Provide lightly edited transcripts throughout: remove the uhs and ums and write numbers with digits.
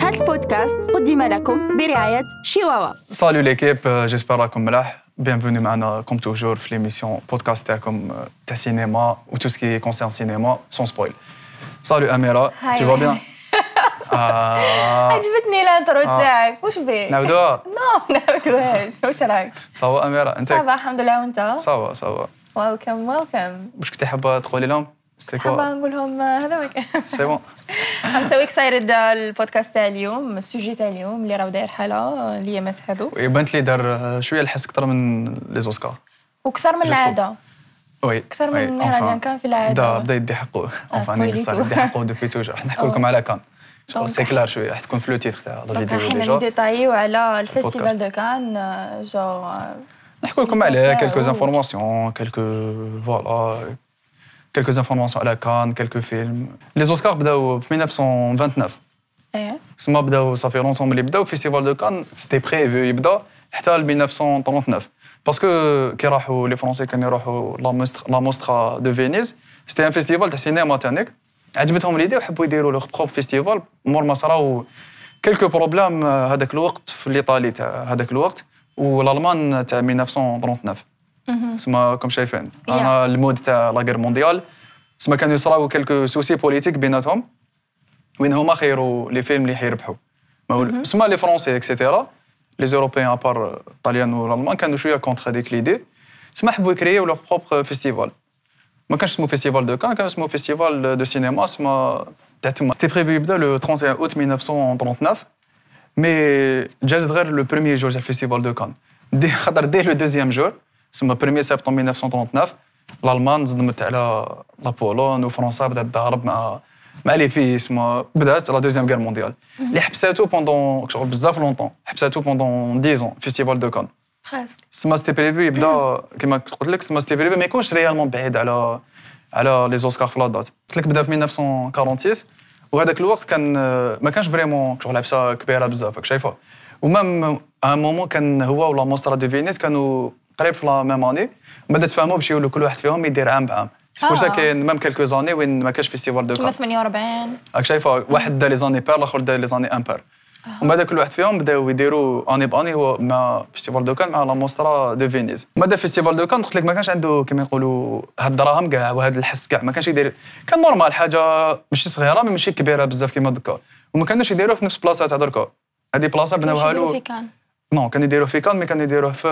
هذا البودكاست قدم لكم برعاية شيواوا. Salut l'équipe, j'espère راكم ملاح. Bienvenue معنا comme toujours في l'émission podcast تاعكم تاع cinéma ou tout ce qui concerne cinéma sans spoil. Salut Amira, tu vas bien? عجبتني الانترو تاعك. واش بيه؟ نعاودوها؟ نو نعاودوهاش. واش راك؟ صافا أميرة أنت؟ صافا الحمد لله. وانت؟ صافا. ويلكم. واش كنتي حابة تقولي لهم؟ حابة نقول لهم هذا ما كان. سي بون. I'm so excited البودكاست تاع اليوم، السوجي تاع اليوم اللي راه داير حالة اليامات هادو. ويبانت لي دار شوية الحس أكثر من لي زوسكار. وكثر من العادة. وي. أكثر من مهرجان كان في العادة. بدا يدي حقه. يدي حقه دوبي توجور. راح نحكوا لكم على كان. سي كلار شويه راح تكون في لو تيتر تاع لا فيديو ديجا. حنا نديتايو على الفيستيفال دو كان جو نحكوا لكم عليه كلكو انفورماسيون quelques informations على كان كلكو فيلم. لي زوسكار بداو في 1929. سما بداو صافي لونطون ملي بداو فيستيفال دو كان سيتي بريفو يبدا حتى ل 1939 باسكو كي راحوا لي فرونسي كانوا يروحوا لا موسترا دو فينيز سيتي ان فيستيفال تاع سينما تانيك عجبتهم ليدي وحبوا يديروا لو بروب فيستيفال مور ما صراو كلكو بروبليم هذاك الوقت في الايطالي تاع هذاك الوقت والالمان تاع 1939 سما كم شايفين انا المود تاع لا غير مونديال سما كانوا يصراو كلكو سوسي بوليتيك بيناتهم وين هما خيروا لي فيلم اللي حيربحوا سما لي فرونسي اكسيتيرا لي زوروبيان ابار الطاليان والالمان كانوا شويه كونتر هذيك ليدي سما حبوا يكريو لو بروبر فيستيفال ما كانش اسمه فيستيفال دو كان اسمه فيستيفال دو سينما سما تاع تما سيتي بريفي يبدا لو 31 اوت 1939 مي جاز غير لو بروميير جور تاع الفيستيفال دو كان خاطر ديه لو دوزيام جور سما 1 سبتمبر 1939 الالمان زدمت على لا بولون وفرنسا بدات تضارب مع لي بي سما بدات لا دوزيام غير مونديال اللي حبساتو بوندون شغل بزاف لونطون حبساتو بوندون 10 فيستيفال دو كان خاسك سما سيتي بريفي يبدا كيما قلت لك سما سيتي بريفي ما يكونش ريالمون بعيد على لي زوسكار في لا دات قلت لك بدا في 1946 وهذاك الوقت كان ما كانش فريمون شغل عفسه كبيره بزاف راك شايفه ومام ان مومون كان هو ولا موسترا دو فينيس كانوا قريب في لا ميم اني بدا تفهموا باش يولوا كل واحد فيهم يدير عام بعام سبور سا كاين ميم كيلكو زاني وين ما كانش فيستيفال دو كان 48 راك شايفه واحد دا لي زاني بار الاخر دا لي زاني امبار ومن بعد كل واحد فيهم بداو يديروا اني باني هو مع فيستيفال دو كان مع لا موسترا دو فينيز من بعد فيستيفال دو كان قلت لك ما كانش عنده كما يقولوا هاد الدراهم كاع وهذا الحس كاع ما كانش يدير كان نورمال حاجه ماشي صغيره ماشي كبيره بزاف كيما دوكا وما كانوش يديروه في نفس بلاصه تاع دركا هذه بلاصه بناوها له نو كانوا يديروه في كان مي كانوا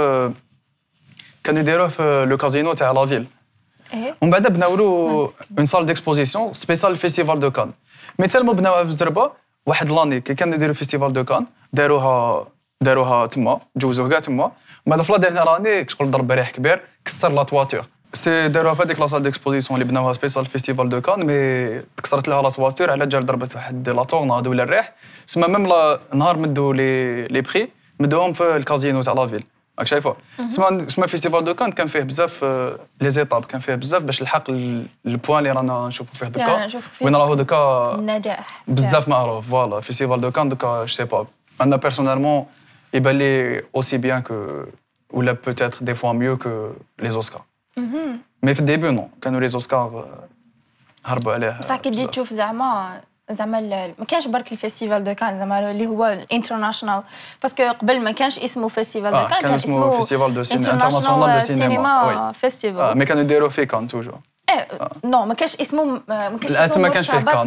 يديروه في لو كازينو تاع لا فيل ومن بعد بناو له اون سال ديكسبوزيسيون سبيسيال فيستيفال دو كان مي تالمو بناوها بزربه واحد لاني كي كانوا يديروا فيستيفال دو كان داروها تما جوزوه كاع تما بعد في لا ديرنيير اني شغل ضرب ريح كبير كسر لا تواتور سي داروها في هذيك لا سال ديكسبوزيسيون اللي بناوها سبيسيال فيستيفال دو كان مي تكسرت لها لا تواتور على جال ضربت واحد لا تورنادو ولا الريح سما ميم نهار مدوا لي بري مدوهم في الكازينو تاع لا فيل راك شايفه سما فيستيفال دو كان كان فيه بزاف لي زيتاب كان فيه بزاف باش الحق البوان اللي رانا نشوفوا فيه دوكا وين راهو دوكا النجاح بزاف معروف فوالا فيستيفال دو كان دوكا جو سي با انا بيرسونيلمون يبان لي اوسي بيان كو ولا بوتيتر دي فوا ميو كو لي زوسكار مي في الديبي نو كانوا لي زوسكار هربوا عليه بصح كي تجي تشوف زعما ما كانش برك الفيستيفال دو كان زعما اللي هو الانترناشونال باسكو قبل ما كانش اسمه فيستيفال دو كان اسمه فيستيفال دو انترناشونال دو سينما فيستيفال مي كانوا يديروا في كان توجور نو ما كانش اسمه ما كانش فيه كان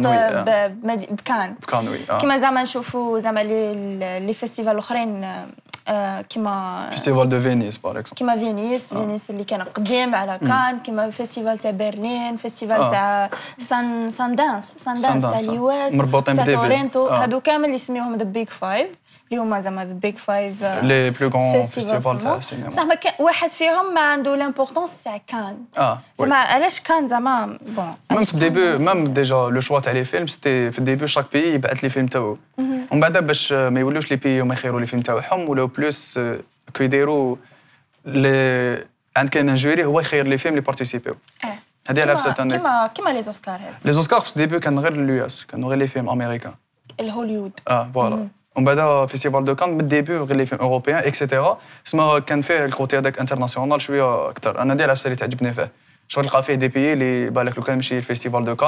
بكان وي كيما زعما نشوفوا زعما لي فيستيفال الاخرين كيما فيستيفال دو فينيس باغ اكزومبل كيما فينيس اللي كان قديم على كان كيما فيستيفال تاع برلين فيستيفال تاع سان دانس تاع اليواس مربوطين تاع بديفيد تورنتو هادو كامل يسميوهم ذا بيج فايف اللي هما زعما ذا بيج فايف لي بلو غون فيستيفال تاع السينما صح واحد فيهم ما عنده لامبورطونس تاع كان زعما علاش كان زعما بون ميم في الديبي ميم ديجا لو شوا تاع لي فيلم سيتي في الديبي شاك بي يبعث لي فيلم تاعو ومن بعد باش ما يولوش لي بي وما يخيروا لي فيلم تاعهم ولا بلوس كو يديروا لي عند كاين ان جوري هو يخير لي فيلم اللي بارتيسيبيو هذه لابسه تاعنا كيما لي زوسكار هذا لي زوسكار في الديبي كان غير اليو اس كانوا غير لي فيلم امريكان الهوليوود فوالا ومن بعد فيستيفال دو كان من الديبي غير لي فيلم اوروبيان اكسيتيرا سما كان فيه الكوتي هذاك انترناسيونال شويه اكثر انا ديال العفسه اللي تعجبني فيه شغل لقى فيه دي بي اللي بالك لو كان ماشي الفيستيفال دو كان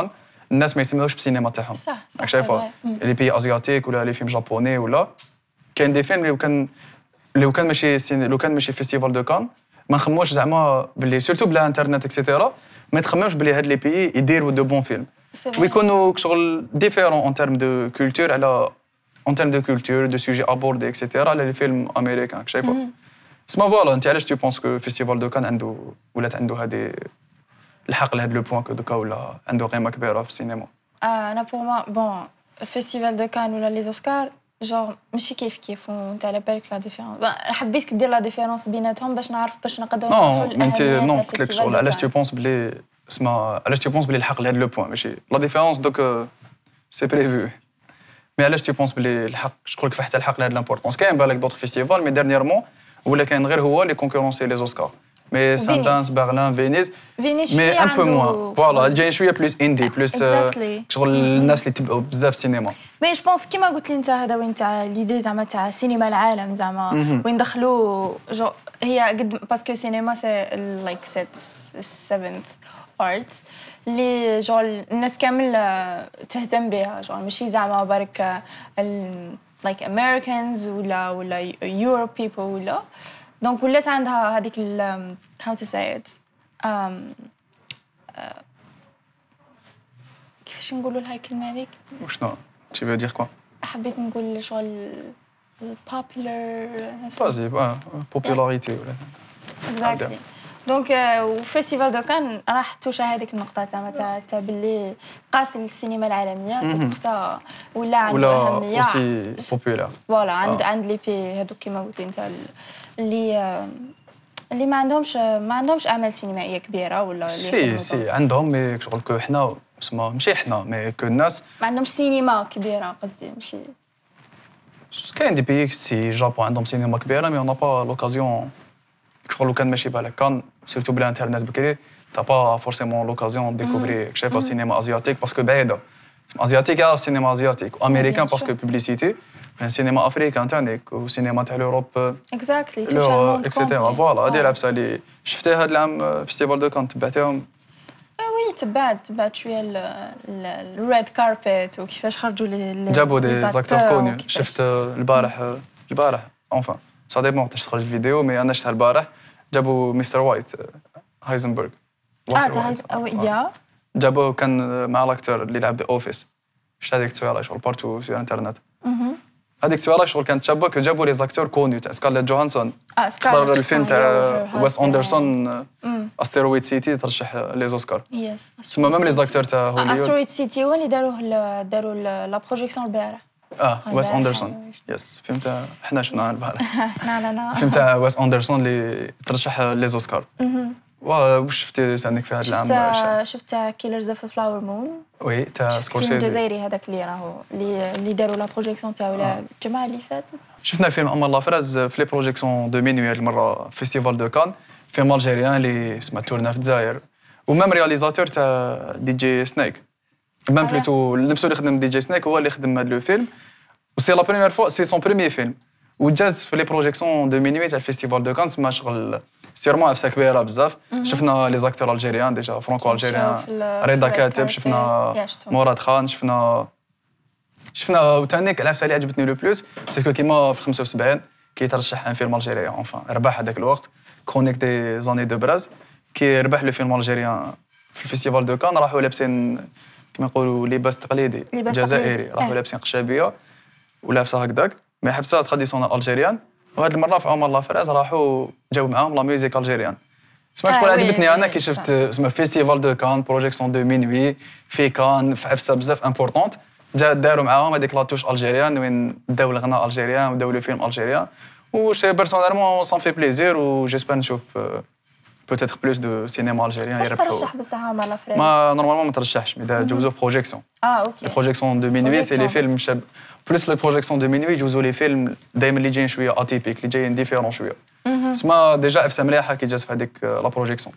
الناس ما يسمعوش بالسينما تاعهم صح شايفه لي بي ازياتيك ولا لي فيلم جابوني ولا كاين دي فيلم لو كان ماشي فيستيفال دو كان ما نخموش زعما باللي سورتو بلا انترنت اكسيتيرا ما تخممش باللي هاد لي بيي يديروا دو بون فيلم ويكونوا شغل ديفيرون اون تيرم دو كولتور على اون تيرم دو كولتور دو سوجي ابوردي اكسيتيرا على لي فيلم امريكان شايفه سما فوالا انت علاش تو بونس كو فيستيفال دو كان عنده ولات عنده هذه الحق لهاد لو بوان كو دوكا ولا عنده قيمه كبيره في السينما انا بور ما بون الفيستيفال دو كان ولا لي اوسكار جور ماشي كيف وانت على بالك لا ديفيرونس حبيت دير لا ديفيرونس بيناتهم باش نعرف باش نقدروا نقولوا الاهميه نو قلت لك شغل علاش تو بونس بلي اسمع علاش تو بونس بلي الحق لهاد لو بوان ماشي لا ديفيرونس دوك سي بريفو مي علاش تو بونس بلي الحق شغل كيف حتى الحق لهاد لامبورطونس كاين بالك دوطخ فيستيفال مي ديرنييرمون ولا كاين غير هو اللي كونكورونسي لي اوسكار مي ساندانس برلين فينيس مي ان بو موان فوالا جاي شويه بلوس اندي بلوس شغل الناس اللي تبعوا بزاف السينما مي جو بونس كيما قلت لي انت هذا وين تاع ليدي زعما تاع سينما العالم زعما وين دخلوا هي قد باسكو سينما سي لايك سيت 7th ارت اللي جول الناس كامل تهتم بها جول ماشي زعما برك لايك امريكانز ولا يوروب بيبل ولا دونك ولات عندها هذيك how to say it كيفاش نقولوا لها الكلمه هذيك وشنو tu veux dire quoi حبيت نقول شغل popular بازي popularité ولا exactly دونك وفيستيفال دو كان راح توشى هذيك النقطه تاع باللي قاس السينما العالميه سي بور سا ولا عنده اهميه ولا اوسي بوبولار فوالا عند لي بي هذوك كيما قلت انت اللي ما عندهمش اعمال سينمائيه كبيره ولا اللي سي عندهم مي شغل كو حنا اسمها ماشي حنا مي كو الناس ما عندهمش سينما كبيره قصدي ماشي كاين دي بيي سي جابون عندهم سينما كبيره مي اون با لوكازيون شغل كان ماشي بالك كان سيرتو بلا انترنت بكري تا با فورسيمون لوكازيون ديكوفري شايفه سينما ازياتيك باسكو بعيده ازياتيك يعرف سينما ازياتيك وامريكان باسكو بوبليسيتي سينما افريكان تانيك وسينما تاع لوروب اكزاكتلي اكسيتيرا فوالا هادي العفسه اللي شفتها هاد العام فيستيفال دو كان تبعتهم وي تبعت شويه الريد كاربيت وكيفاش خرجوا لي جابوا دي زاكتور كوني شفت البارح اونفان سا ديبون وقتاش تخرج الفيديو مي انا شفتها البارح جابوا مستر وايت هايزنبرغ يا جابوا كان مع الاكتور اللي لعب ذا اوفيس شفت هذيك التصويره شغل بارتو في الانترنت هذيك التصويره شغل كانت شابه كو جابوا لي زاكتور كوني تاع سكارليت جوهانسون تحضر الفيلم تاع ويس اندرسون استيرويد سيتي ترشح لي اوسكار يس تسمى ميم لي زاكتور تاع هوليوود استيرويد سيتي هو اللي داروا لا بروجيكسيون البارح ويس اندرسون يس فيلم تاع حنا شفناه البارح لا فيلم تاع ويس اندرسون اللي ترشح لي اوسكار واش شفتي عندك في هذا العام شفت كيلرز اوف فلاور مون وي تاع سكورسيزي الجزائري هذاك اللي راهو اللي داروا لا بروجيكسيون تاعو الجمعه اللي فاتت شفنا الفيلم امال لافراز في لي بروجيكسيون دو مينوي هذه المره فيستيفال دو كان فيلم الجيريان اللي اسمه تورنا في الجزائر ومام رياليزاتور تاع دي جي سنيك مام بلوتو نفسه اللي خدم دي جي سنيك هو اللي خدم هذا لو فيلم وسي لا بريمير فوا سي سون بريمير فيلم وجاز في لي بروجيكسيون دو مينوي تاع الفيستيفال دو كان سما شغل سيرمون عفسه كبيره بزاف شفنا لي زاكتور الجيريان ديجا فرانكو الجيريان رضا كاتب شفنا مراد خان شفنا وتانيك العفسه اللي عجبتني لو بلوس سيكو كيما في 75 كي ترشح ان فيلم الجيريان اونفان ربح هذاك الوقت كرونيك دي زاني دو براز كي ربح لو فيلم الجيريان في الفيستيفال دو كان راحوا لابسين كيما نقولوا لباس تقليدي جزائري راحوا لابسين قشابيه ولابسه هكذاك مي حبسه تراديسيونال الجيريان وهاد المره في عمر لافراز راحوا جاو معاهم لا ميوزيك الجيريان سما شكون عجبتني انا كي شفت اسمه فيستيفال دو كان بروجيكسيون دو مينوي في كان في عفسه بزاف امبورطونت داروا معاهم هذيك لاتوش الجيريان وين داو الغناء الجيريان وداو لو فيلم الجيريان وشي بيرسونيلمون سان في بليزير وجيسبر نشوف بوتيتر بلوس دو سينما الجيريان يربحوا ترشح بصح عمر لافراز ما نورمالمون ما ترشحش مي جوزو بروجيكسيون اوكي بروجيكسيون دو مينوي سي لي فيلم شاب بلوس لي بروجيكسيون دو مينوي يجوزوا لي فيلم دائما اللي جايين شويه اتيبيك اللي جايين ديفيرون شويه سما ديجا عفسه مليحه كي جات في هذيك لا بروجيكسيون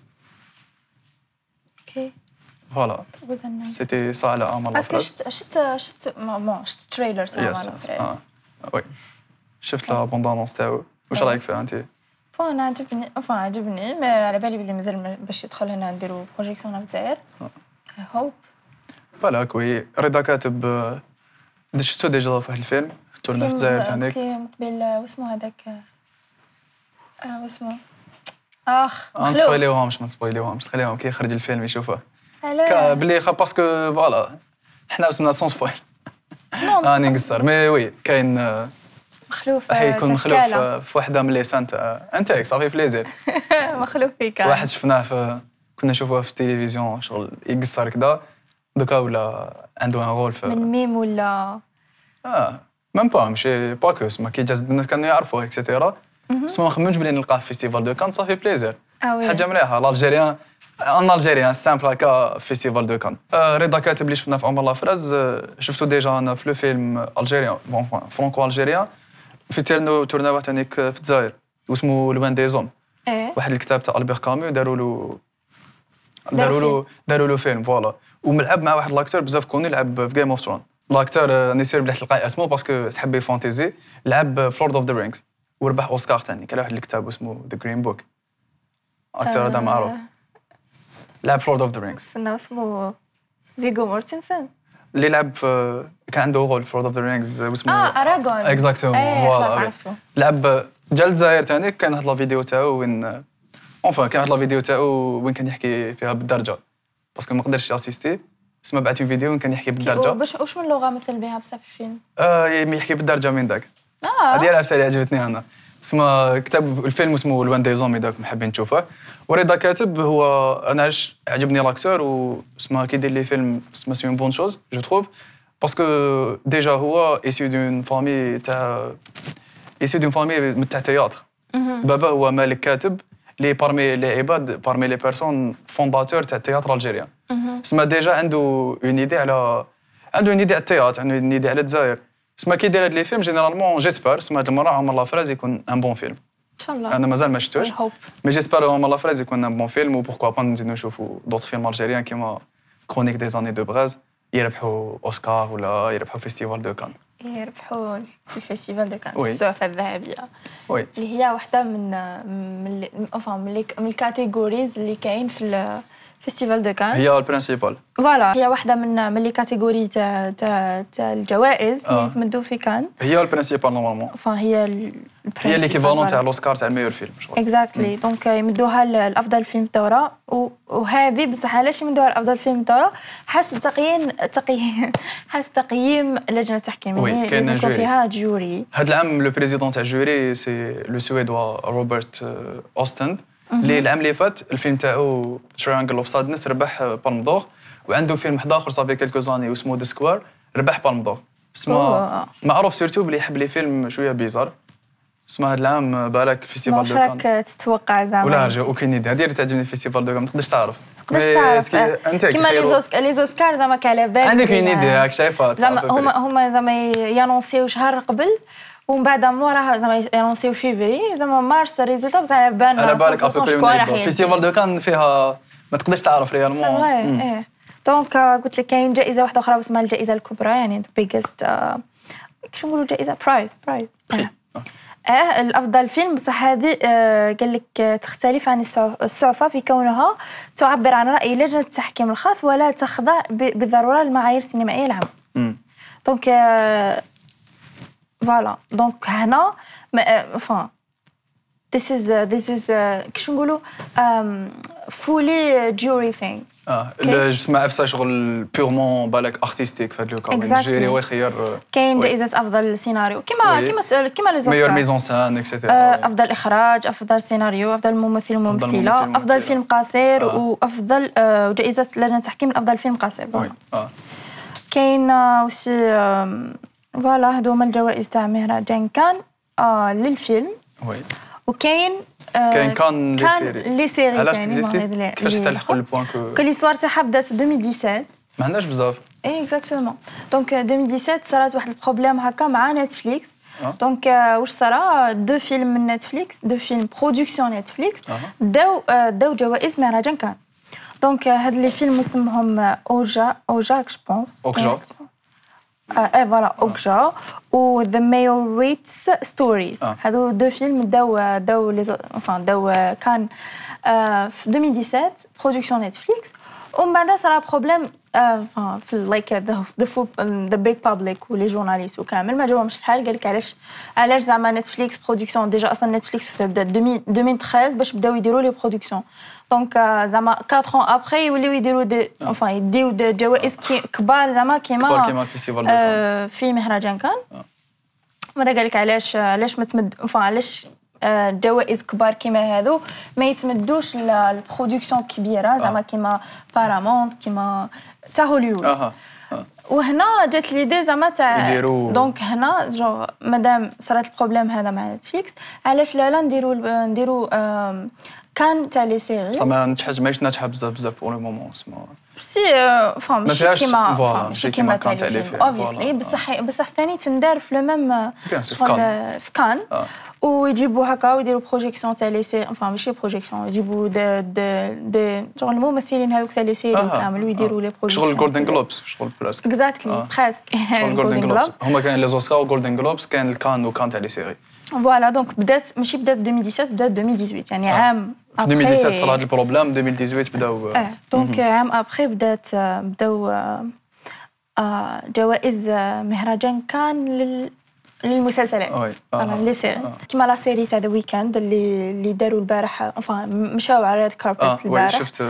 اوكي فوالا سيتي سا على عمر لافراز شفت تريلر تاع عمر لافراز وي شفت لا بوندانونس تاعو واش رايك فيها انت انا عجبني ما على بالي بلي مازال باش يدخل هنا نديرو بروجيكسيون في الجزائر هوب بالك وي رضا كاتب شفتو ديجا في واحد الفيلم تورنا في الجزائر ثاني قبل واسمو هذاك واسمو ما نسبويليوهمش خليهم كي يخرج الفيلم يشوفوه علاش بلي باسكو فوالا حنا وصلنا سون سبويل راني نقصر مي وي كاين مخلوف يكون مخلوف في وحده من لي سان تاع انتيك صافي بليزير مخلوف فيك واحد شفناه كنا نشوفوه في التلفزيون شغل يقصر كذا دوكا ولا عنده ان رول من ميم ولا ميم با ماشي باكوس ما كي جاز الناس كانوا يعرفوه اكسيتيرا بس ما خممتش بلي نلقاه في فيستيفال دو كان صافي بليزير حاجه مليحه الالجيريان ان الجيريان سامبل هكا فيستيفال دو كان رضا كاتب اللي شفنا في عمر لافراز شفتو ديجا انا في لو فيلم الجيريان بون فرانكو الجيريان في تورناو تانيك في الجزائر واسمو لوان دي زوم واحد الكتاب تاع البير كاميو داروا له فيلم فوالا وملعب مع واحد لاكتور بزاف كوني لعب في جيم اوف ثرون لاكتور نسير بلي تلقاي اسمه باسكو سحب فانتيزي لعب في لورد اوف ذا رينجز وربح اوسكار ثاني كان واحد الكتاب اسمه ذا جرين بوك اكتور هذا معروف لعب في لورد اوف ذا رينجز اسمه فيغو مورتنسن اللي لعب كان عنده رول في لورد اوف ذا رينجز اسمه اراغون اكزاكتومون فوالا لعب جا الجزائر ثاني كان واحد لا فيديو تاعو وين كان واحد لا فيديو تاعو وين كان يحكي فيها بالدرجه باسكو ما قدرش اسيستي اسمه بعث فيديو وين كان يحكي بالدرجه واش من لغه مثل بها بصح في الفيلم يحكي بالدرجه من ذاك هذه العفسه اللي عجبتني انا اسمه كتاب الفيلم اسمه لوان دي زوم اذا حابين تشوفه ورضا كاتب هو انا عجبني لاكتور واسمه كيدير لي فيلم اسمه سي اون بون شوز جو تروف باسكو ديجا هو ايسيو دون فامي تاع تاع تياتر بابا هو مالك كاتب لي بارمي لي عباد بارمي لي بيرسون فونداتور تاع التياتر الجيريان اسمه ديجا عنده اون ايدي على التياتر عنده اون ايدي على الجزائر اسمه كي يدير هاد لي فيلم جينيرالمون جيسبر اسمه هاد المره عمر لافراز يكون ان بون فيلم ان شاء الله انا مازال ما شفتوش مي جيسبر عمر لافراز يكون ان بون فيلم وبوركوا با نزيدو نشوفوا دوطر فيلم الجيريان كيما كرونيك دي زاني دو بغاز يربحوا اوسكار ولا يربحوا فيستيفال دو كان يربحوا في الفيستيفال دو كان السعفه الذهبيه اللي هي واحده من الكاتيجوريز اللي كاين في فيستيفال دو كان هي البرينسيبال فوالا هي واحده من لي كاتيجوري تاع الجوائز اللي يتمدوا في كان هي البرينسيبال نورمالمون هي ليكيفالون تاع الاوسكار تاع الميور فيلم اكزاكتلي دونك يمدوها لافضل فيلم الدوره وهذه بصح علاش يمدوها لافضل فيلم الدوره حسب تقييم لجنه التحكيم يعني كاين فيها جوري هذا العام لو بريزيدون تاع الجوري سي لو سويدوا روبرت اوستند اللي العام اللي فات الفيلم تاعو تريانجل اوف سادنس ربح بالم دور وعنده فيلم واحد اخر صافي كيلكو زاني واسمه دي سكوار ربح بالم دور اسمه معروف سيرتو بلي يحب لي فيلم شويه بيزار اسمه هذا العام بالك فيستيفال دو كان راك تتوقع زعما ولا رجع اوكين ايدي هذه اللي تعجبني فيستيفال دو كان ما تقدرش تعرف انت كيما لي زوسكار زعما كاع بالك عندك اون ايدي راك شايفه زعما هما زعما يانونسيو شهر قبل ومن بعد موراها زعما يانونسيو فيفري زعما مارس الريزولتا بصح على بالك فيستيفال دو كان فيها ما تقدرش تعرف ريالمون دونك قلت لك كاين جائزه واحده اخرى اسمها الجائزه الكبرى يعني بيجست كيش نقولوا جائزه برايز الافضل فيلم بصح هذه قال لك تختلف عن السعفه في كونها تعبر عن راي لجنه التحكيم الخاص ولا تخضع بالضروره للمعايير السينمائيه العامه دونك فوالا دونك هنا this is كيش نقولوا fully jury thing جسم عفسه شغل بيورمون بالك ارتستيك في هذا الكا الجيري هو يخير كاين جائزه افضل سيناريو كيما لي زوسكار ميور ميزون سان اكسيتيرا افضل اخراج افضل سيناريو افضل ممثل وممثله افضل فيلم قصير وافضل جائزه لجنه التحكيم لافضل فيلم قصير كاين وسي فوالا هادو هما الجوائز تاع مهرجان كان للفيلم وكاين كان لي سيري علاش تيزيستي كيفاش تلحقوا البوان كل ليستوار تاعها بدات 2017 ما عندناش بزاف اكزاكتومون دونك 2017 صارت واحد البروبليم هكا مع نتفليكس دونك واش صرا دو فيلم من نتفليكس دو فيلم برودكسيون نتفليكس داو جوائز مهرجان كان دونك هاد لي فيلم اسمهم اوجا جو بونس فوالا اوكجا و ذا مايوريتس ستوريز هادو دو فيلم داو كان في 2017 برودكسيون نتفليكس ومن بعد صرا بروبليم في لايك ذا بيج بابليك ولي جورناليست وكامل ما جاوهمش الحال قال لك علاش زعما نتفليكس برودكسيون ديجا اصلا نتفليكس بدا 2013 باش بداو يديروا لي برودكسيون دونك زعما 4 ans ابري يوليو يديروا دي يديو جوائز كبار زعما كيما في مهرجان كان ماذا قال لك علاش ما تمد علاش جوائز كبار كيما هذو ما يتمدوش البرودكسيون كبيره زعما كيما بارامونت كيما تاع هوليوود وهنا جات ليدي زعما تاع دونك هنا جو مادام صرات البروبليم هذا مع نتفليكس علاش لا نديروا كان تاع لي سيري زعما نجحت ماهيش ناجحه بزاف بور لو مومون سي ماشي كيما تاع لي فيلم اوبفيسلي بصح ثاني تندار في لو ميم في كان ويجيبوا هكا ويديروا بروجيكسيون تاع لي سيري ماشي بروجيكسيون يجيبوا دي شغل الممثلين هذوك تاع لي سيري كامل ويديروا لي بروجيكسيون شغل جولدن جلوبس شغل براسك اكزاكتلي براسك جولدن جلوبس هما كاين لي زوسكار وجولدن جلوبس كاين الكان وكان تاع لي سيري فوالا دونك بدات 2017 بدات 2018 يعني عام في 2017 صرا هذا البروبليم 2018 بداو دونك عام ابري بداو جوائز مهرجان كان للمسلسلات لي سيري كيما لا سيري تاع ذا ويكند اللي داروا البارح مشاو على ريد كاربت البارح شفت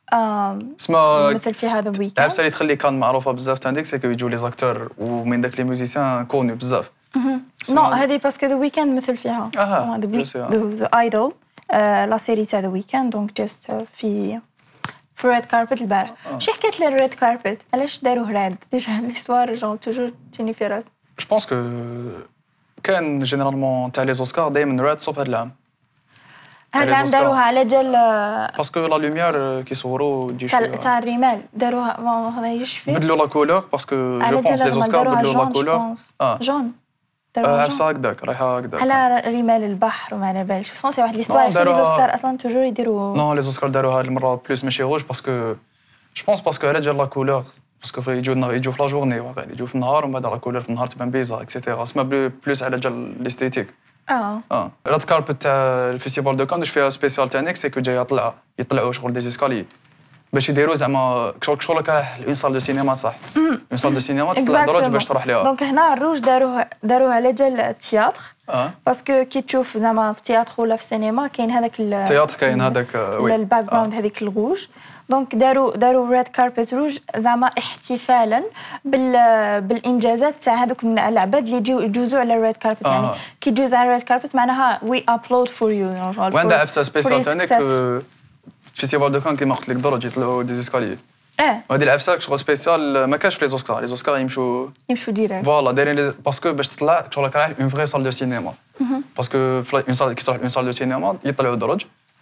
اسمها مثل في هذا ويكند عرفت اللي تخلي كان معروفه بزاف تاع ديك سيكو يجوا لي زاكتور ومن داك لي ميوزيسيان كوني بزاف نو هذه باسكو ذا ويكند مثل فيها ذا ايدول لا سيري تاع ذا ويكند دونك جاست في ريد كاربت البارح شي حكيت لي الريد كاربت علاش داروه راد ديجا ليستوار جون توجور تجيني في راس جو بونس كو كان جينيرالمون تاع لي زوسكار دائما راد صوب هاد العام هاد العام داروها على جال باسكو لا لوميير كيصوروا تجي شويه تاع الرمال داروها هذا يشفي بدلوا لا كولور باسكو جو بونس لي زوسكار بدلوا لا كولور جون عرسه هكذاك رايحه هكذاك على رمال البحر وما على بالش سونسي واحد ليستوار لي زوسكار اصلا توجور يديروا نو لي زوسكار داروها هاد المره بلوس ماشي روج باسكو جو بونس باسكو على جال لا كولور باسكو يجوا في لا جورني واقع يجوا في النهار ومن بعد لا كولور في النهار تبان بيزا اكسيتيرا سما بلوس على جال ليستيتيك راد كاربت تاع الفيستيفال دو كان واش فيها سبيسيال تاع نيك سيكو جايه يطلعوا شغل دي زيسكالي باش يديروا زعما شغل كراح اون سال دو سينما صح اون سال دو سينما تطلع دروج باش تروح ليها دونك هنا الروج داروها على جال التياتر باسكو كي تشوف زعما في التياتر ولا في السينما كاين هذاك التياتر كاين هذاك الباك جراوند هذيك الروج دونك داروا ريد كاربت روج زعما احتفالا بالانجازات تاع هذوك العباد اللي يجوزوا على الريد كاربت يعني كي تجوز على الريد كاربت معناها وي ابلود فور يو وعندها عفسه سبيسيال تاعك فيستيفال دو كان كيما قلت لك درج يطلعوا دي زيسكالي وهذه العفسه شغل سبيسيال ما كاش في لي زوسكار يمشوا ديريكت فوالا دايرين باسكو باش تطلع شغل كراح اون فري سال دو سينما باسكو في اون سال كي تروح اون سال دو سينما يطلعوا درج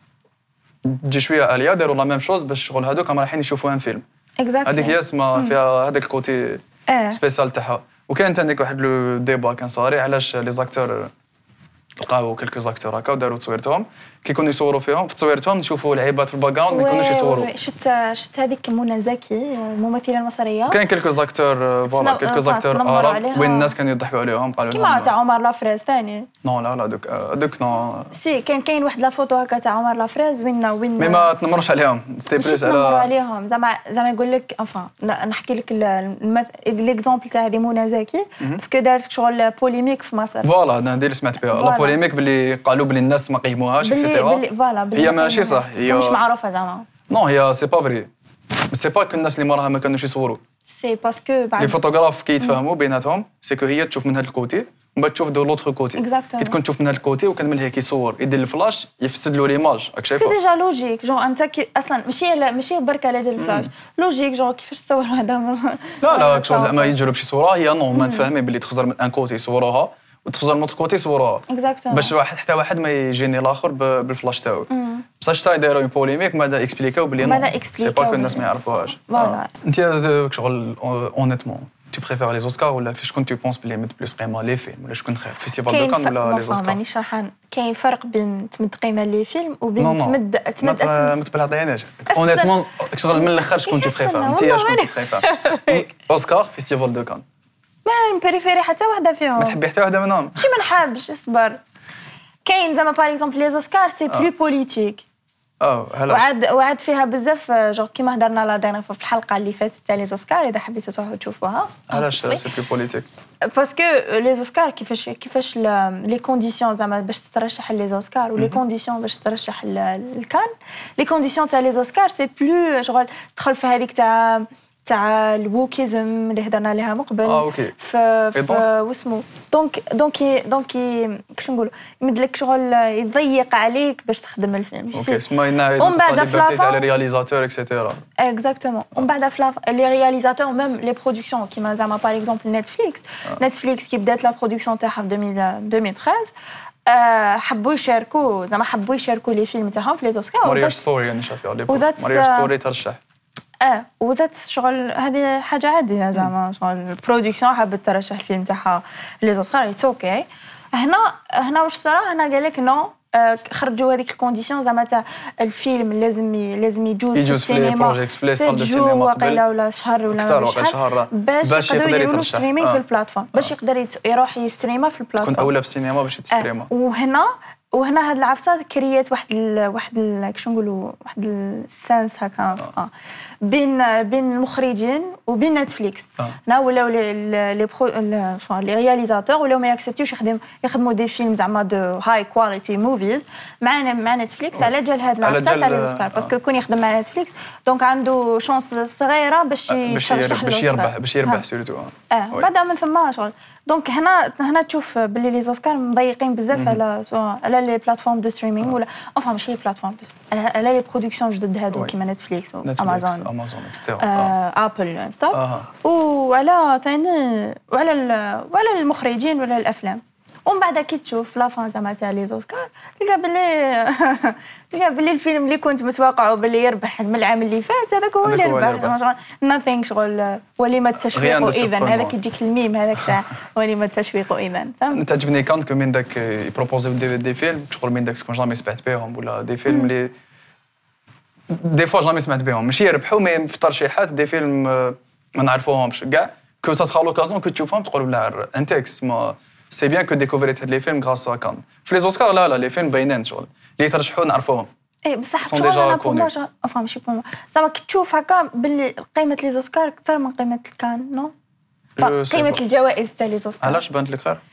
تجي شويه اليا داروا لا ميم شوز باش شغل هذوك رايحين يشوفوا ان فيلم هذيك هي اسمها فيها هذاك الكوتي سبيسيال تاعها وكاين ثاني واحد لو ديبا كان صاري علاش لي زاكتور لقاو كلكو زاكتور هكا وداروا تصويرتهم كي يكونوا يصوروا فيهم في تصويرتهم نشوفوا لعيبات في الباك جراوند ما يكونوش يصوروا شفت هذيك منى زكي الممثله المصريه كاين كلكو زاكتور فوالا كلكو زاكتور عرب وين الناس كانوا يضحكوا عليهم قالوا كيما تاع عمر لافريز ثاني نو لا دوك نو سي كاين واحد لا فوتو هكا تاع عمر لافريز وين مي ما تنمروش عليهم ستي بلوس عليهم زعما يقول لك نحكي لك ليكزامبل تاع هذه منى زكي باسكو دارت شغل بوليميك في مصر فوالا هذا اللي سمعت بها لا بوليميك باللي قالوا بلي الناس ما قيموهاش اكسيتيرا هي ماشي صح هي مش معروفه زعما نو هي سي با فري سي با كو الناس اللي موراها ما كانوش يصوروا سي باسكو لي فوتوغراف كي يتفاهموا بيناتهم سي كو هي تشوف من هذا الكوتي ومن بعد تشوف دو لوتر كوتي كي تكون تشوف من هذا الكوتي وكان من هيك يصور يدير الفلاش يفسد له ليماج راك شايفه ديجا لوجيك جون انت اصلا ماشي برك على جال الفلاش لوجيك جون كيفاش تصور هذا لا شغل زعما يجرب شي صوره هي نو ما تفهمي باللي تخزر من ان كوتي يصوروها وتخزر من كوتي يصوروها باش حتى واحد ما يجيني الاخر بالفلاش تاعو بصح شتا دايروا بوليميك وماذا اكسبليكاو بلي نو سي با كو الناس ما يعرفوهاش انت شغل اونيتمون tu préfères les Oscars ولا فاش كنت tu penses بلي مد بلوس قيمه لي فيلم ولا شكون خير فيستيفال دو كان ولا لي زوسكار مانيش راح كاين فرق بين تمد قيمه لي فيلم وبين تمد ما تبلعطيناش اونيتمون شغل من الاخر شكون tu préfères انت شكون tu préfères اوسكار فيستيفال دو كان ما بريفيري حتى وحده فيهم ما تحبي حتى وحده منهم شي ما نحبش اصبر كاين زعما باغ اكزومبل لي زوسكار سي بلو بوليتيك وعاد فيها بزاف جو كيما هضرنا لا دينا في الحلقه اللي فاتت تاع لي زوسكار اذا حبيتوا تروحوا تشوفوها. علاش سي بلو بوليتيك؟ باسكو لي زوسكار كيفاش لي كونديسيون زعما باش تترشح لي زوسكار ولي كونديسيون باش تترشح الكان. لي كونديسيون تاع لي زوسكار سي بلو شغل تدخل في هذيك تاع الووكيزم اللي هضرنا عليها من قبل. اوكي. واسمو دونك كيفاش نقولوا يمدلك شغل يضيق عليك باش تخدم الفيلم. اوكي اسمها ينعاد ليبرتي تاع لي رياليزاتور اكسيتيرا. اكزاكتومون. ومن بعد في لي رياليزاتور ميم لي برودكسيون كيما زعما باغ اكزومبل نتفليكس كي بدات لا برودكسيون تاعها في 2013 حبوا يشاركوا لي فيلم تاعهم في لي زوسكار. مارياج ستوري يعني شافيها مارياج ستوري ترشح. وذات شغل هذه حاجه عاديه زعما شغل البرودكسيون حابه ترشح الفيلم تاعها لي زوسكار اتس اوكي. هنا واش صرا هنا قال لك نو خرجوا هذيك الكونديسيون زعما تاع الفيلم لازم يجوز في السينما في لي صال دو سينما قبل ولا شهر ولا شهر باش يقدر يديروا ستريمينغ في البلاتفورم باش يقدر يروح يستريما في البلاتفورم. كنت اولى في السينما باش تستريما. وهنا هاد العفسه كريات واحد كيفاش نقولوا واحد السانس هكا بين المخرجين وبين نتفليكس. هنا ولاو لي رياليزاتور ولاو ما ياكسبتيوش يخدموا دي فيلم زعما دو هاي كواليتي موفيز مع نتفليكس على جال هاد العفسه تاع الاوسكار باسكو كون يخدم مع نتفليكس دونك عنده شانس صغيره باش يربح سيرتو. بعدا من ثم شغل دونك هنا تشوف باللي لي زوسكار مضيقين بزاف على لي بلاتفورم دو ستريمينغ ولا ماشي لي بلاتفورم على لي برودكسيون جدد هادو كيما نتفليكس وامازون ابل ستوب وعلى ثاني وعلى المخرجين ولا الافلام. ومن بعد كي تشوف لا فان زعما تاع لي زوسكار تلقى باللي الفيلم اللي كنت متوقعه باللي يربح من العام اللي فات هذاك هو اللي ربح. nothing شغل ولما التشويق اذا هذاك يجيك الميم هذاك تاع ولما التشويق اذا فهمت. تعجبني كانت من داك يبروبوزيو دي فيلم شغل من داك تكون جامي سمعت بهم ولا دي فيلم اللي دي فوا جامي سمعت بهم ماشي يربحوا مي في ترشيحات دي فيلم ما نعرفوهمش كاع كو سا سخا لوكازيون كو تشوفهم تقول بلا انتكس ما سي بيان كو ديكوفريت هاد لي فيلم غراس ا كان. في لي زوسكار لا لي فيلم باينين شغل اللي ترشحوا نعرفوهم. اي بصح شغل ماشي بوما زعما كي تشوف هكا باللي قيمه لي زوسكار اكثر من قيمه الكان نو قيمه الجوائز تاع لي زوسكار. علاش بانت لك خير؟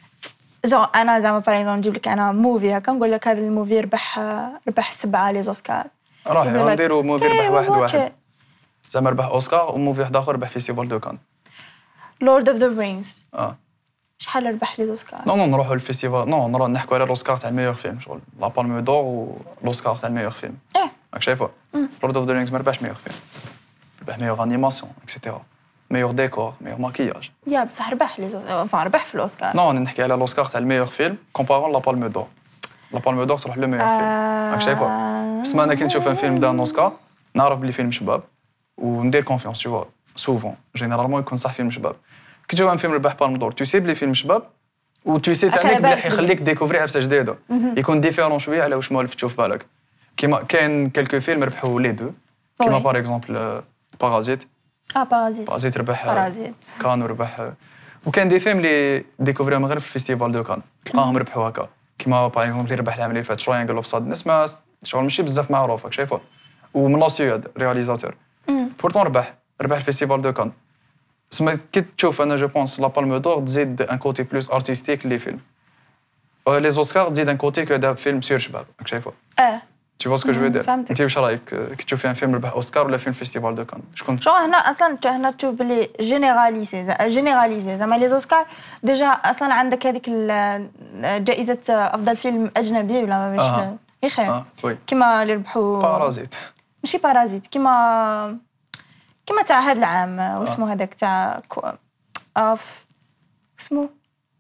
انا زعما باغ نجيب لك انا موفي هكا نقول لك هذا الموفي ربح 7 لي زوسكار راهي نديروا موفي ربح واحد زعما ربح اوسكار وموفي واحد اخر ربح فيستيفال دو كان لورد اوف ذا رينجز. شحال ربح لي زوسكار؟ نو نروحوا للفيستيفال نروحوا نحكوا على الاوسكار تاع الميور فيلم شغل لا بالم دور والاوسكار تاع الميور فيلم. راك شايفه لورد اوف ذا رينجز ما ربحش ميور فيلم ربح ميور انيماسيون اكسيتيرا ميور ديكور ميور ماكياج. بصح ربح لي ربح في الاوسكار. نحكي على الاوسكار تاع الميور فيلم كومبارون لا بالم دور. لا بالم دور تروح لو ميور فيلم راك شايفه. بس انا كي نشوف ان فيلم دان اوسكار نعرف بلي فيلم شباب وندير كونفيونس تو سوفون جينيرالمون يكون صح فيلم شباب. كي تشوف ان فيلم ربح بالم دور تو سي بلي فيلم شباب و تو سي تانيك بلي يخليك ديكوفري عفسه جديده يكون ديفيرون شويه على واش مولف تشوف بالك. كيما كاين كلكو فيلم ربحوا لي دو كيما باغ اكزومبل بارازيت. بارازيت ربح كان وربح وكان دي فيلم اللي ديكوفريهم غير في الفيستيفال دو كان تلقاهم ربحوا هكا كيما باغ اكزومبل اللي ربح العام اللي فات تراينجل اوف سادنس ما شغل ماشي بزاف معروف راك شايفه ومن لا سويد رياليزاتور بورتون ربح الفيستيفال دو كان. سما كي تشوف انا جو بونس لا بالم دور تزيد ان كوتي بلوس ارتستيك لي فيلم لي زوسكار تزيد ان كوتي كو هذا فيلم سير شباب راك شايفه. Tu vois ce que je veux dire? انت واش رايك كي تشوفي ان فيلم ربح اوسكار ولا فيلم فيستيفال دو كان شكون شو هنا اصلا هنا تشوف بلي جينيراليزي زعما لي زوسكار ديجا اصلا عندك هذيك جائزه افضل فيلم اجنبي ولا ماشي يا خير كيما اللي ربحوا بارازيت ماشي بارازيت كيما تاع هذا العام واسمه هذاك تاع اسمه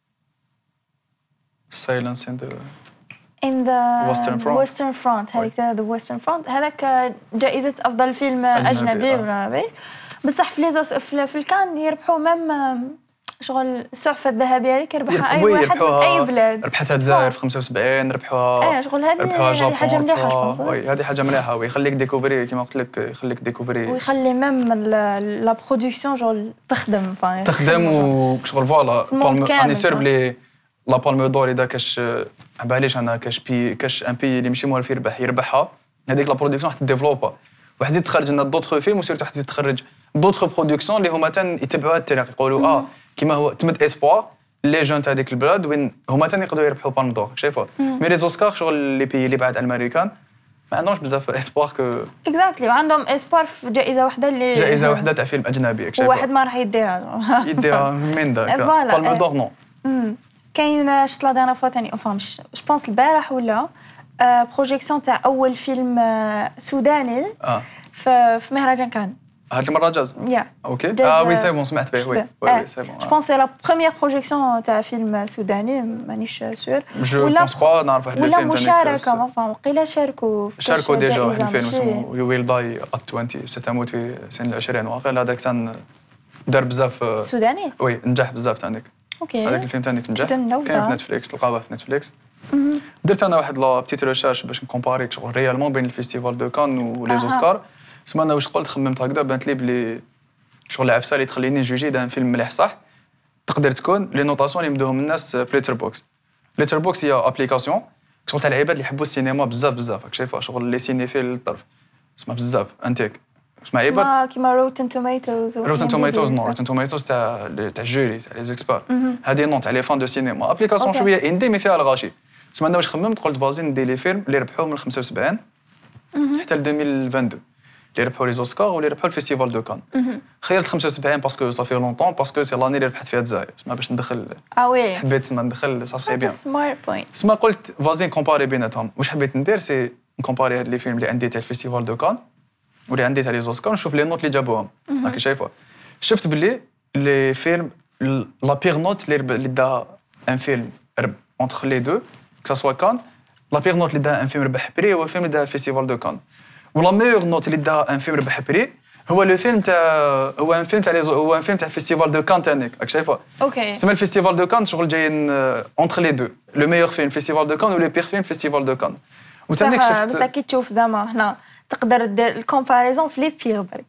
Silence in the Western Front هذيك تاع the Western Front هذاك جائزة أفضل فيلم أجنبي بصح في الكان يربحوا ميم شغل السعفة الذهبية هذيك يربحها أي واحد من أي بلاد. ربحتها الجزائر في 75 ربحوها شغل هذه حاجة مليحة هذه حاجة مليحة ويخليك ديكوفري كيما قلت لك يخليك ديكوفري ويخلي ميم لا برودكسيون شغل تخدم وشغل فوالا راني سير بلي لا بالم دور اذا كاش عباليش انا كاش ان بي اللي ماشي موالف يربحها هذيك لا برودكسيون حتى ديفلوبا وحتزيد تخرج لنا دوطخ فيلم وسيرتو حتزيد تخرج دوطخ برودكسيون اللي هما يتبعوها الطريق يقولوا كيما هو تمد اسبوار لي جون تاع هذيك البلاد وين هما يقدروا يربحوا بالون دور شايفوا مي لي زوسكار شغل لي بي اللي بعد الامريكان ما عندهمش بزاف اسبوار كو اكزاكتلي وعندهم اسبوار في جائزه واحده اللي جائزه واحده تاع فيلم اجنبي واحد ما راح يديها من داك بالون دور نو كاين شفت لا دانا فوا ثاني جو بونس البارح ولا بروجيكسيون تاع اول فيلم سوداني في مهرجان كان هاد المره جاز اوكي وي سي بون سمعت به وي سي بون جو بونس سي لا بروميير بروجيكسيون تاع فيلم سوداني مانيش سور جو بونس با نعرف واحد الفيلم ولا مشاركه ما فهم قيله شاركوا ديجا واحد الفيلم اسمه يو ويل داي ات 20 ستموت في سن 20 واقيلا هذاك كان دار بزاف سوداني وي نجح بزاف ثانيك اوكي هذاك الفيلم ثاني نجح كاين في نتفليكس تلقاوه في نتفليكس درت انا واحد لا بتيت ريشيرش باش نكومباري شغل ريالمون بين الفيستيفال دو كان ولي زوسكار سما انا واش قلت خممت هكذا بانت لي بلي شغل العفسه اللي تخليني نجوجي دا فيلم مليح صح تقدر تكون لي نوطاسيون اللي يمدوهم الناس في ليتر بوكس هي ابليكاسيون شغل تاع العباد اللي يحبوا السينما بزاف راك شايفها شغل لي سينيفيل للطرف اسمها بزاف انتيك اسمها عباد كيما روتن توميتوز نو روتن توميتوز تاع الجوري تاع لي زيكسبير هذه نون تاع لي فان دو سينما ابليكاسيون شويه اندي مي فيها الغاشي سما انا واش خممت قلت فازي ندير لي فيلم اللي ربحوا من 75 حتى ل 2022 اللي ربحوا لي زوسكار واللي ربحوا الفيستيفال دو كان خيرت 75 باسكو صافي لونطون باسكو سي لاني اللي ربحت فيها الجزائر سما باش ندخل وي حبيت سما ندخل سا سخي بيان سمارت بوينت سما قلت فازي نكومباري بيناتهم واش حبيت ندير سي نكومباري هاد لي فيلم اللي عندي تاع الفيستيفال دو كان واللي عندي تاع لي زوسكار نشوف لي نوت اللي جابوهم راكي شايفه شفت باللي لي فيلم لا بيغ نوت اللي دا ان فيلم اونتر لي دو كو سوا كان لا بيغ نوت اللي دا ان فيلم ربح بري هو الفيلم اللي دا الفيستيفال دو كان ولا ميور نوت اللي دا ان فيلم ربح بري هو لو فيلم تاع هو ان فيلم تاع الفيستيفال دو كان تانيك راك شايفه اوكي سما الفيستيفال دو كان شغل جايين اونتر لي دو لو ميور فيلم فيستيفال دو كان ولو بيغ فيلم فيستيفال دو كان وتانيك شفت بس كي تشوف زعما هنا تقدر دير الكومباريزون في لي بيغ برك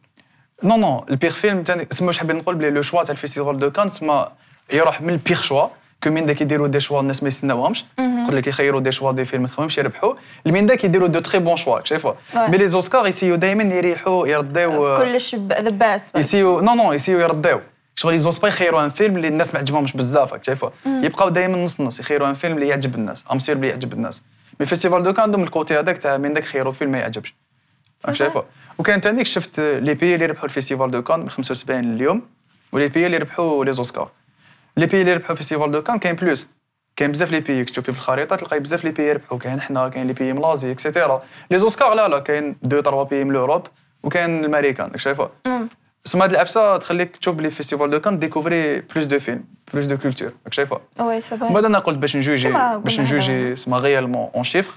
نو البيغ فيلم تاني سما واش حابين نقول بلي لو شوا تاع الفيستيفال دو كان سما يروح من البيغ شوا كومين داك يديروا دي شوا الناس ما يستناوهمش قلت لك يخيروا دي شوا دي فيلم ما تخممش يربحوا المين داك يديروا دو تري بون شوا شايفه مي لي زوسكار يسيو دائما يريحوا يرديو كلش ذا باست يسيو نو يسيو يرديو شغل يزوسبا يخيروا ان فيلم اللي الناس ما عجبهمش بزاف شايفه يبقاو دائما نص يخيروا ان فيلم اللي يعجب الناس امسير اللي يعجب الناس مي فيستيفال دو كان عندهم الكوتي هذاك تاع من داك خيروا فيلم ما يعجبش شايفه وكان ثاني شفت لي بي اللي ربحوا الفيستيفال دو كان من 75 اليوم ولي بي اللي ربحوا لي زوسكار لي بي اللي ربحوا الفيستيفال دو كان كاين بلوس كاين بزاف لي بي تشوفي في الخريطه تلقاي بزاف لي بي يربحوا كاين حنا كاين لي بي ملازي اكسيتيرا لي زوسكار لا كاين 2-3 بي من اوروب وكاين الامريكان شايفه سما هاد العبسه تخليك تشوف لي فيستيفال دو كان ديكوفري بلوس دو فيلم بلوس دو كولتور شايفه وي سي فري بعد انا قلت باش نجوجي سما ريالمون اون شيفر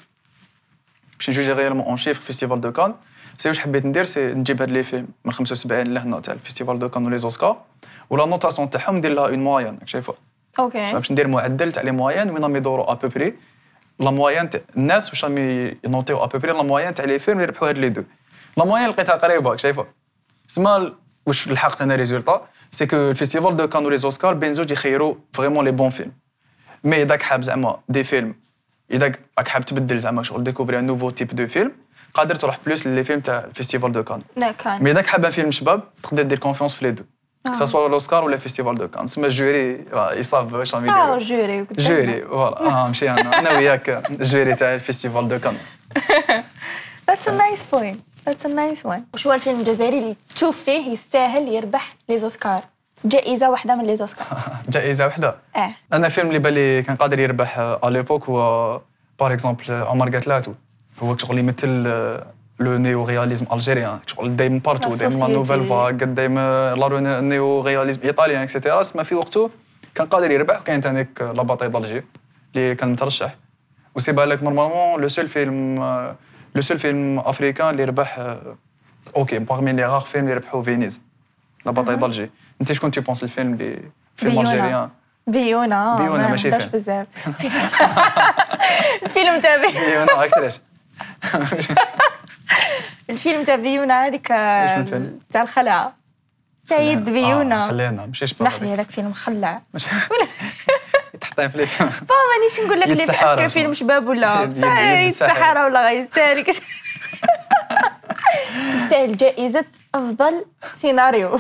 باش نجوجي ريالمون اون شيفر فيستيفال دو كان سي واش حبيت ندير سي نجيب هاد لي فيلم من 75 لهنا تاع الفيستيفال دو كان ولي زوسكار ولا نوتاسيون تاعهم ندير لها اون موين شايفه اوكي باش ندير معدل تاع لي موين وين راهم يدوروا ابوبري لا موين تاع الناس واش راهم ينوطيو ابوبري لا موين تاع لي فيلم اللي ربحوا هاد لي دو لا موين لقيتها قريبه شايفه سما واش لحقت انا ريزولطا سي كو الفيستيفال دو كان ولي زوسكار بين زوج يخيروا فريمون لي بون فيلم مي اذا حاب زعما دي فيلم اذا راك حاب تبدل زعما شغل ديكوفري ان نوفو تيب دو فيلم قادر تروح بلوس لي فيلم تاع الفيستيفال دو كان مي اذا حاب فيلم شباب تقدر دير كونفيونس في لي دو que ça soit l'Oscar ou le Festival de Cannes. سما الجوري يصاب واش راهم يديروا. جوري فوالا ماشي انا وياك الجوري تاع الفيستيفال دو كان. That's a nice point. That's a nice one. وشو هو الفيلم الجزائري اللي تشوف فيه يستاهل يربح لي زوسكار؟ جائزة واحدة من لي زوسكار. جائزة واحدة؟ أنا فيلم اللي بالي كان قادر يربح على ليبوك هو باغ اكزومبل عمر قتلاتو. هو شغل يمثل لو نيو رياليزم الجيريان شغل دايما بارتو دايما لا نوفيل فاغ دايما لا نيو رياليزم ايطاليان اكسيتيرا سما في وقته كان قادر يربح وكاين ثانيك لا باتاي دالجي اللي كان مترشح وسي بالك نورمالمون لو سول فيلم افريكان اللي ربح اوكي باغمي لي غار فيلم اللي ربحوا فينيز لا باتاي دالجي انت شكون تي بونس الفيلم اللي فيلم الجيريان بيونا ماشي فيلم بزاف الفيلم تاع بيونا اكتريس الفيلم تاع بيونا هذيك تاع الخلعة سيد بيونا خلينا مشيش نحلي هذاك فيلم خلع تحطيه في ليفيلم مانيش نقول لك لي باسكو فيلم شباب ولا صحيح السحارة ولا غيستاهل يستاهل جائزة أفضل سيناريو.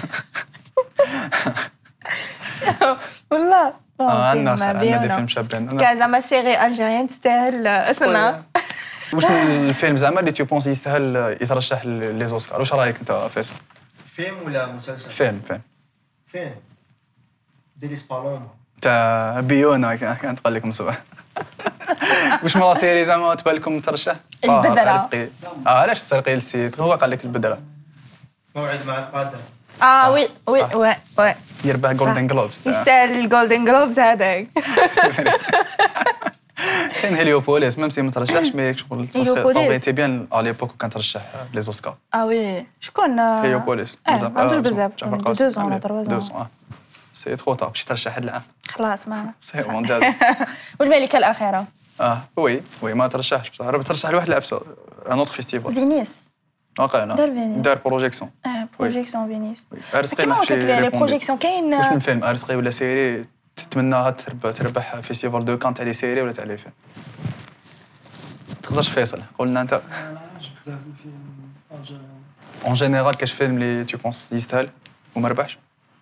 والله عندنا دي فيلم شابين كان زعما سيري ألجيريان تستاهل سنة. واش الفيلم زعما اللي تو بونس يستاهل يترشح لي زوسكار؟ واش رايك انت فيصل؟ فيلم ولا مسلسل؟ فيلم ديليس بالوما تاع بيونا كانت قال لكم صباح. واش مرا سيري زعما تبان لكم ترشح؟ البدرة. علاش تسرقي السيد؟ هو قال لك البدرة. موعد مع القادة. وي يربح جولدن جلوبز. يستاهل الجولدن جلوبز هذاك. كاين هيليوبوليس ميم سي ما ترشحش مي شغل صافي بيان على ليبوك كان ترشح لي زوسكار. وي شكون؟ هيليوبوليس بزاف 2 ولا 3 سي ترو طاب باش ترشح هاد العام. خلاص معنا سي مونجاز. والملكة الأخيرة. وي ما ترشحش بصح راه ترشح لواحد العفسه ان اوتر فيستيفال. فينيس. واقيلا دار بروجيكسيون. بروجيكسيون فينيس. كيما قلت لك لي بروجيكسيون كاين. واش من فيلم ارسقي ولا سيري تتمناها تربح فيستيفال دو كان تاع لي سيري ولا تاع لي فيلم؟ تقدرش فيصل قول لنا انت. اون جينيرال كاش فيلم اللي تو بونس يستاهل وما ربحش؟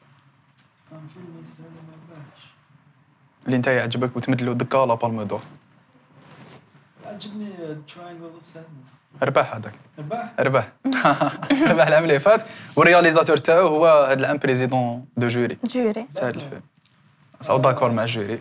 اللي انت يعجبك وتمد له دكا لا بالم دور. عجبني تراينجل اوف سادنس. ربح هذاك. ربح العام اللي فات والرياليزاتور تاعو هو هذا العام بريزيدون دو جوري تاع الفيلم. او داكور مع الجوري.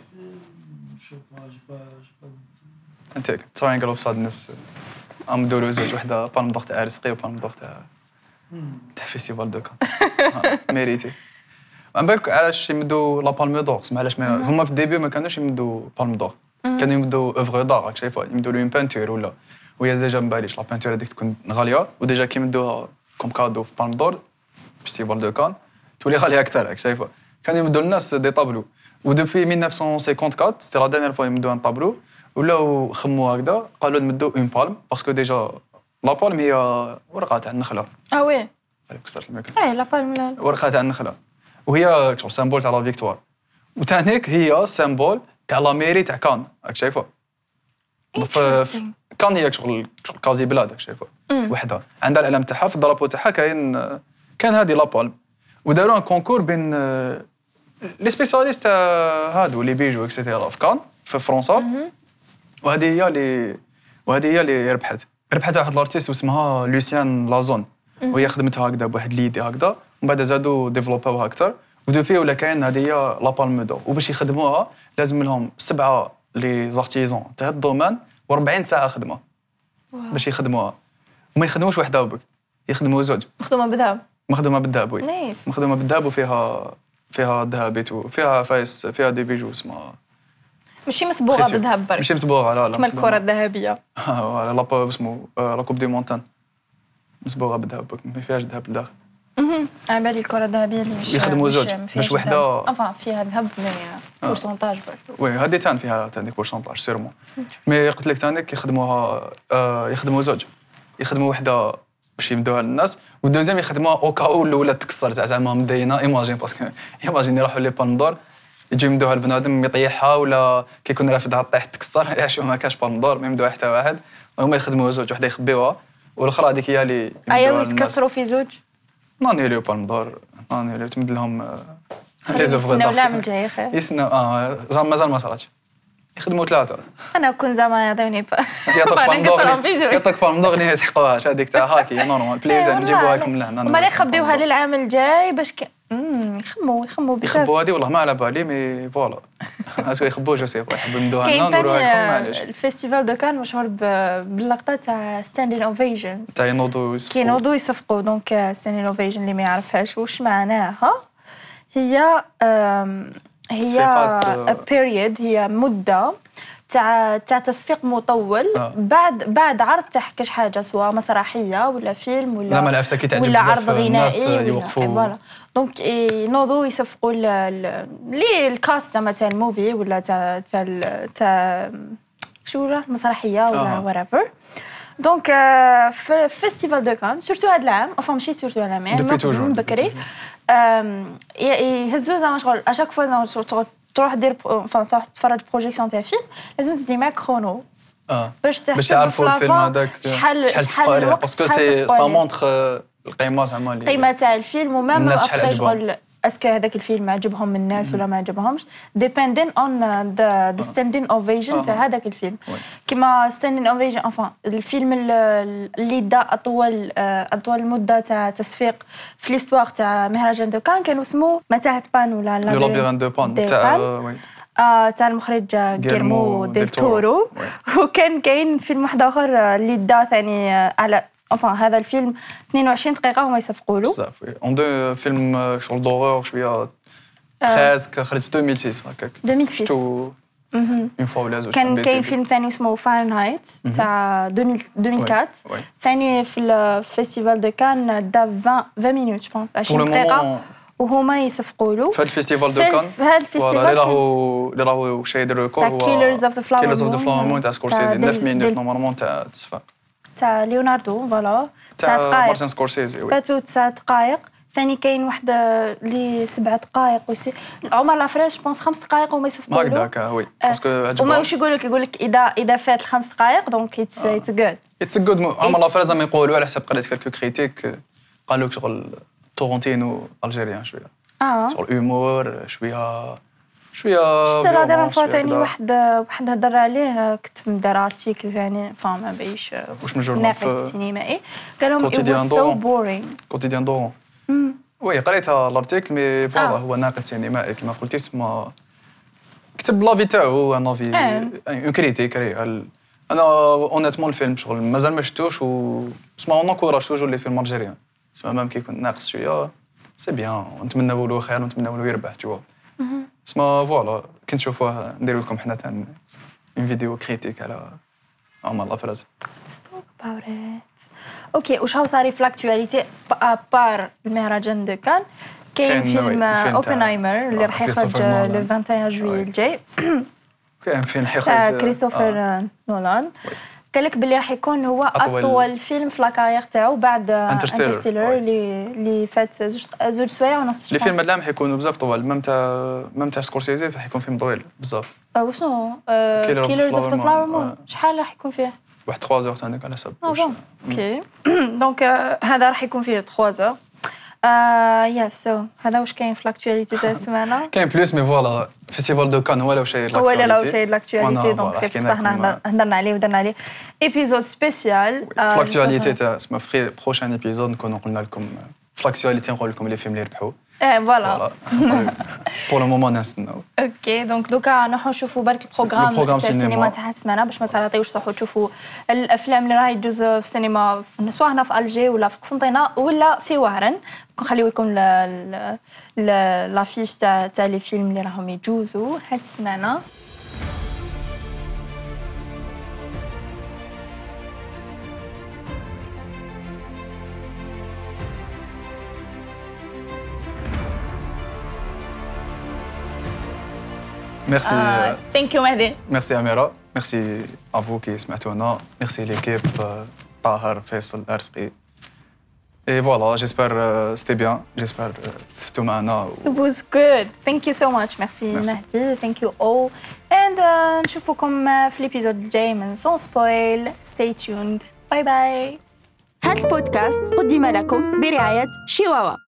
انت تراينجل اوف سادنس ام دورو زوج وحده بالم دور تاع رزقي وبالم دور تاع فيستيفال دو كان ميريتي. من بالك علاش يمدوا لا بالم دور؟ سمع علاش هما في الديبي ما كانوش يمدوا بالم دور، كانوا يمدوا اوفغ دار راك شايفها، يمدوا له اون بانتور ولا وهي ديجا ما باليش لا بانتور هذيك تكون غاليه وديجا كيمدوها كوم كادو في بالم دور فيستيفال دو كان تولي غاليه اكثر راك شايفها. كانوا يمدوا للناس دي طابلو ودوبي 1954 سيتي لا دانيير فوا يمدوا ان طابلو ولاو خموا هكذا قالوا نمدوا اون بالم باسكو ديجا لا بالم هي ورقه تاع النخله. وي عليك كسرت الميكرو. لا بالم ورقه تاع النخله وهي سامبول تاع لا فيكتوار وتانيك هي سامبول تاع لا ميري تاع كان راك شايفها. كان هي شغل كازي بلاد راك شايفها وحده عندها العلم تاعها في الدرابو تاعها كان هذه لا بالم وداروا ان كونكور بين لي سبيسياليست تاع هادو لي بيجو اكسيتيرا في كان في فرنسا وهذه هي اللي ربحت واحد الارتيست اسمها لوسيان لازون وهي خدمتها هكذا بواحد ليدي هكذا ومن بعد زادوا ديفلوباوها اكثر ودوبي ولا كاين هذه هي لا بالم دور وباش يخدموها لازم لهم 7 لي زارتيزون تاع هذا الدومين و40 ساعه خدمه باش يخدموها وما يخدموش وحده وبك يخدموا زوج مخدومه بالذهب وي مخدومه بالذهب وفيها ذهبيت وفيها فايس فيها دي بيجو اسمها ماشي مصبوغه بالذهب برك ماشي مصبوغه لا كما الكره الذهبيه لا اسمه لا كوب دي مونتان مصبوغه بالذهب ما فيهاش ذهب لداخل. على بالي الكره الذهبيه اللي مش يخدموا زوج باش وحده فيها ذهب مي بورسونتاج برك وي هذه تان فيها تانيك بورسونتاج سيرمون مي قلت لك تانيك يخدموها يخدموا زوج يخدموا وحده باش يمدوها للناس والدوزيام يخدموها او كاو الاولى تكسر زعما مدينه ايماجين باسكو ايماجين يروحوا لي بالندور يجيو يمدوها لبنادم يطيحها ولا كيكون رافدها طيح تكسر يعيشوا ما كاش بالندور ما يمدوها حتى واحد هما يخدموا زوج وحده يخبيوها والاخرى هذيك هي اللي ايوا يتكسروا في زوج ناني لي بالندور ناني لي تمد لهم لي زوفغ دار العام الجاي خير يسناو مازال ما صراتش يخدموا 3 انا كون زعما يعطيوني يعطيك بالندور اللي ما يسحقوهاش هذيك تاع هاكي نورمال بليزير نجيبوها لكم لهنا هما اللي يخبيوها للعام الجاي باش يخموا بزاف يخبوا هذه والله ما على بالي مي فوالا اسكو يخبوا جو سي يحبوا يمدوها لنا نديروها لكم معليش. الفيستيفال دو كان مشهور باللقطه تاع ستاندين اوفيشنز تاع ينوضوا يصفقوا دونك ستاندين اوفيشن اللي ما يعرفهاش واش معناها هي بيريود هي مده تاع تصفيق مطول بعد عرض تاع كاش حاجه سواء مسرحيه ولا فيلم ولا زعما العفسه كي تعجب ولا عرض غنائي الناس يوقفوا فوالا دونك ينوضوا يصفقوا لي الكاست زعما تاع الموفي ولا تاع شو ولا مسرحيه ولا ورافر دونك في فيستيفال دو كان سورتو هذا العام ماشي سورتو هذا العام من بكري يهزوا زعما شغل اشاك فوا تروح دير تروح تفرج بروجيكسيون تاع فيلم لازم تدي معاك كرونو باش باش يعرفوا الفيلم هذاك شحال تفقوا عليه باسكو سي سا مونتر القيمه زعما القيمه تاع الفيلم ومام الناس شحال ابخي عجبهم. شغل اسكو هذاك الفيلم عجبهم الناس ولا ما عجبهمش depending on the standing ovation تاع هذاك الفيلم كما standing ovation enfin الفيلم اللي دا اطول مده تاع تصفيق في ليستوار تاع مهرجان دو كان كانوا اسمه متاهه بان ولا لو لابيرين دو بان تاع المخرج غيرمو ديل تورو وكان كاين فيلم واحد اخر اللي دا ثاني على هذا الفيلم 22 دقيقة وما يصفقوا له. بزاف وي. اون دو فيلم شغل دورور شوية 13 خرج في 2006 هكاك. 2006. شفتو اون فوا ولا زوج. كان كاين فيلم ثاني اسمه فahrenheit تاع 2004 ثاني في الفيستيفال دو كان دا 20 مينوت جو بونس 20 دقيقة وهما يصفقوا له. في الفيستيفال دو كان. في هذا الفيستيفال اللي راهو شايد الريكورد هو Killers of the Flower Moon تاع سكورسيزي 9 مينوت نورمالمون تاع تصفيق. تاع ليوناردو فوالا 9 دقائق مارتن سكورسيزي وي فاتو 9 دقائق ثاني كاين وحده اللي 7 دقائق عمر لافريش بونس 5 دقائق وما يصفقوا له هكذاك وي باسكو عجبهم وما واش يقول لك اذا فات ال5 دقائق دونك اتس جود عمر لافريز ما يقولوا على حسب قريت كالكو كريتيك قالوا لك شغل تورونتينو الجيريان شويه شغل هيومور شويه شفت لا دير ثاني واحد هضر عليه كتب دار ارتيكل ثاني فما بايش واش من جورنال ناقد سينمائي قال لهم it was so boring كوتيديان دورون وي قريتها الارتيكل مي فوالا هو ناقد سينمائي كما قلتي اسمه كتب لافي تاعو انا في اون كريتيك انا اونيتمون الفيلم شغل مازال ما شفتوش و اسمع اون انكوراج توجور لي فيلم الجيريان اسمع مام كيكون ناقص شويه سي بيان ونتمناو له خير ونتمناو له يربح تو اسمع فوالا كي نشوفوه نديرو لكم حنا تاع اون فيديو كريتيك على عمر لافريز اوكي واش هو صار في لاكتواليتي بار المهرجان دو كان كاين فيلم اوبنهايمر اللي راح يخرج لو 21 جويي الجاي كاين فيلم حيخرج كريستوفر نولان قال لك باللي راح يكون هو اطول فيلم في لاكارير تاعو بعد انترستيلر اللي فات زوج سوايع ونص. لي فيلم هذا حيكونوا بزاف طوال ميم تاع سكورسيزي حيكون فيلم طويل بزاف. وشنو كيلرز اوف ذا فلاور مون شحال راح يكون فيه؟ واحد 3 زور ثاني على حسب. اوكي دونك هذا راح يكون فيه 3 زور. يس سو هذا واش كاين في لاكتواليتي تاع السمانه. كاين بلوس مي فوالا فيستيفال دو كان هو لا شيء لاكتواليتي هو لا شيء لاكتواليتي دونك سي بصح حنا هضرنا عليه ودرنا عليه ايبيزود سبيسيال لاكتواليتي تاع اسمه في بروشين ايبيزود نكونوا قلنا لكم في لاكتواليتي نقول لكم لي فيلم اللي ربحوا فوالا بور لو مومون نستناو. اوكي دونك دوكا نروحوا نشوفوا برك البروغرام تاع السينما تاع السمانه باش ما تعطيوش تروحوا تشوفوا الافلام اللي راهي تجوز في السينما سواء هنا في الجي ولا في قسنطينه ولا في وهران. نخليو لكم لافيش تاع لي فيلم اللي راهم يجوزوا هاد السمانه. Merci. Thank you Mehdi. Merci Amira. Merci à vous qui سمعتونا. Merci l'équipe طاهر فيصل أرزقي. Et voilà, j'espère c'était bien. J'espère استفدتوا معنا. It was good. Thank you so much. Merci Mehdi. Thank you all. And نشوفكم في الابيزود الجاي من سون سبويل. Stay tuned. باي باي. هذا البودكاست قدم لكم برعاية شيواوا.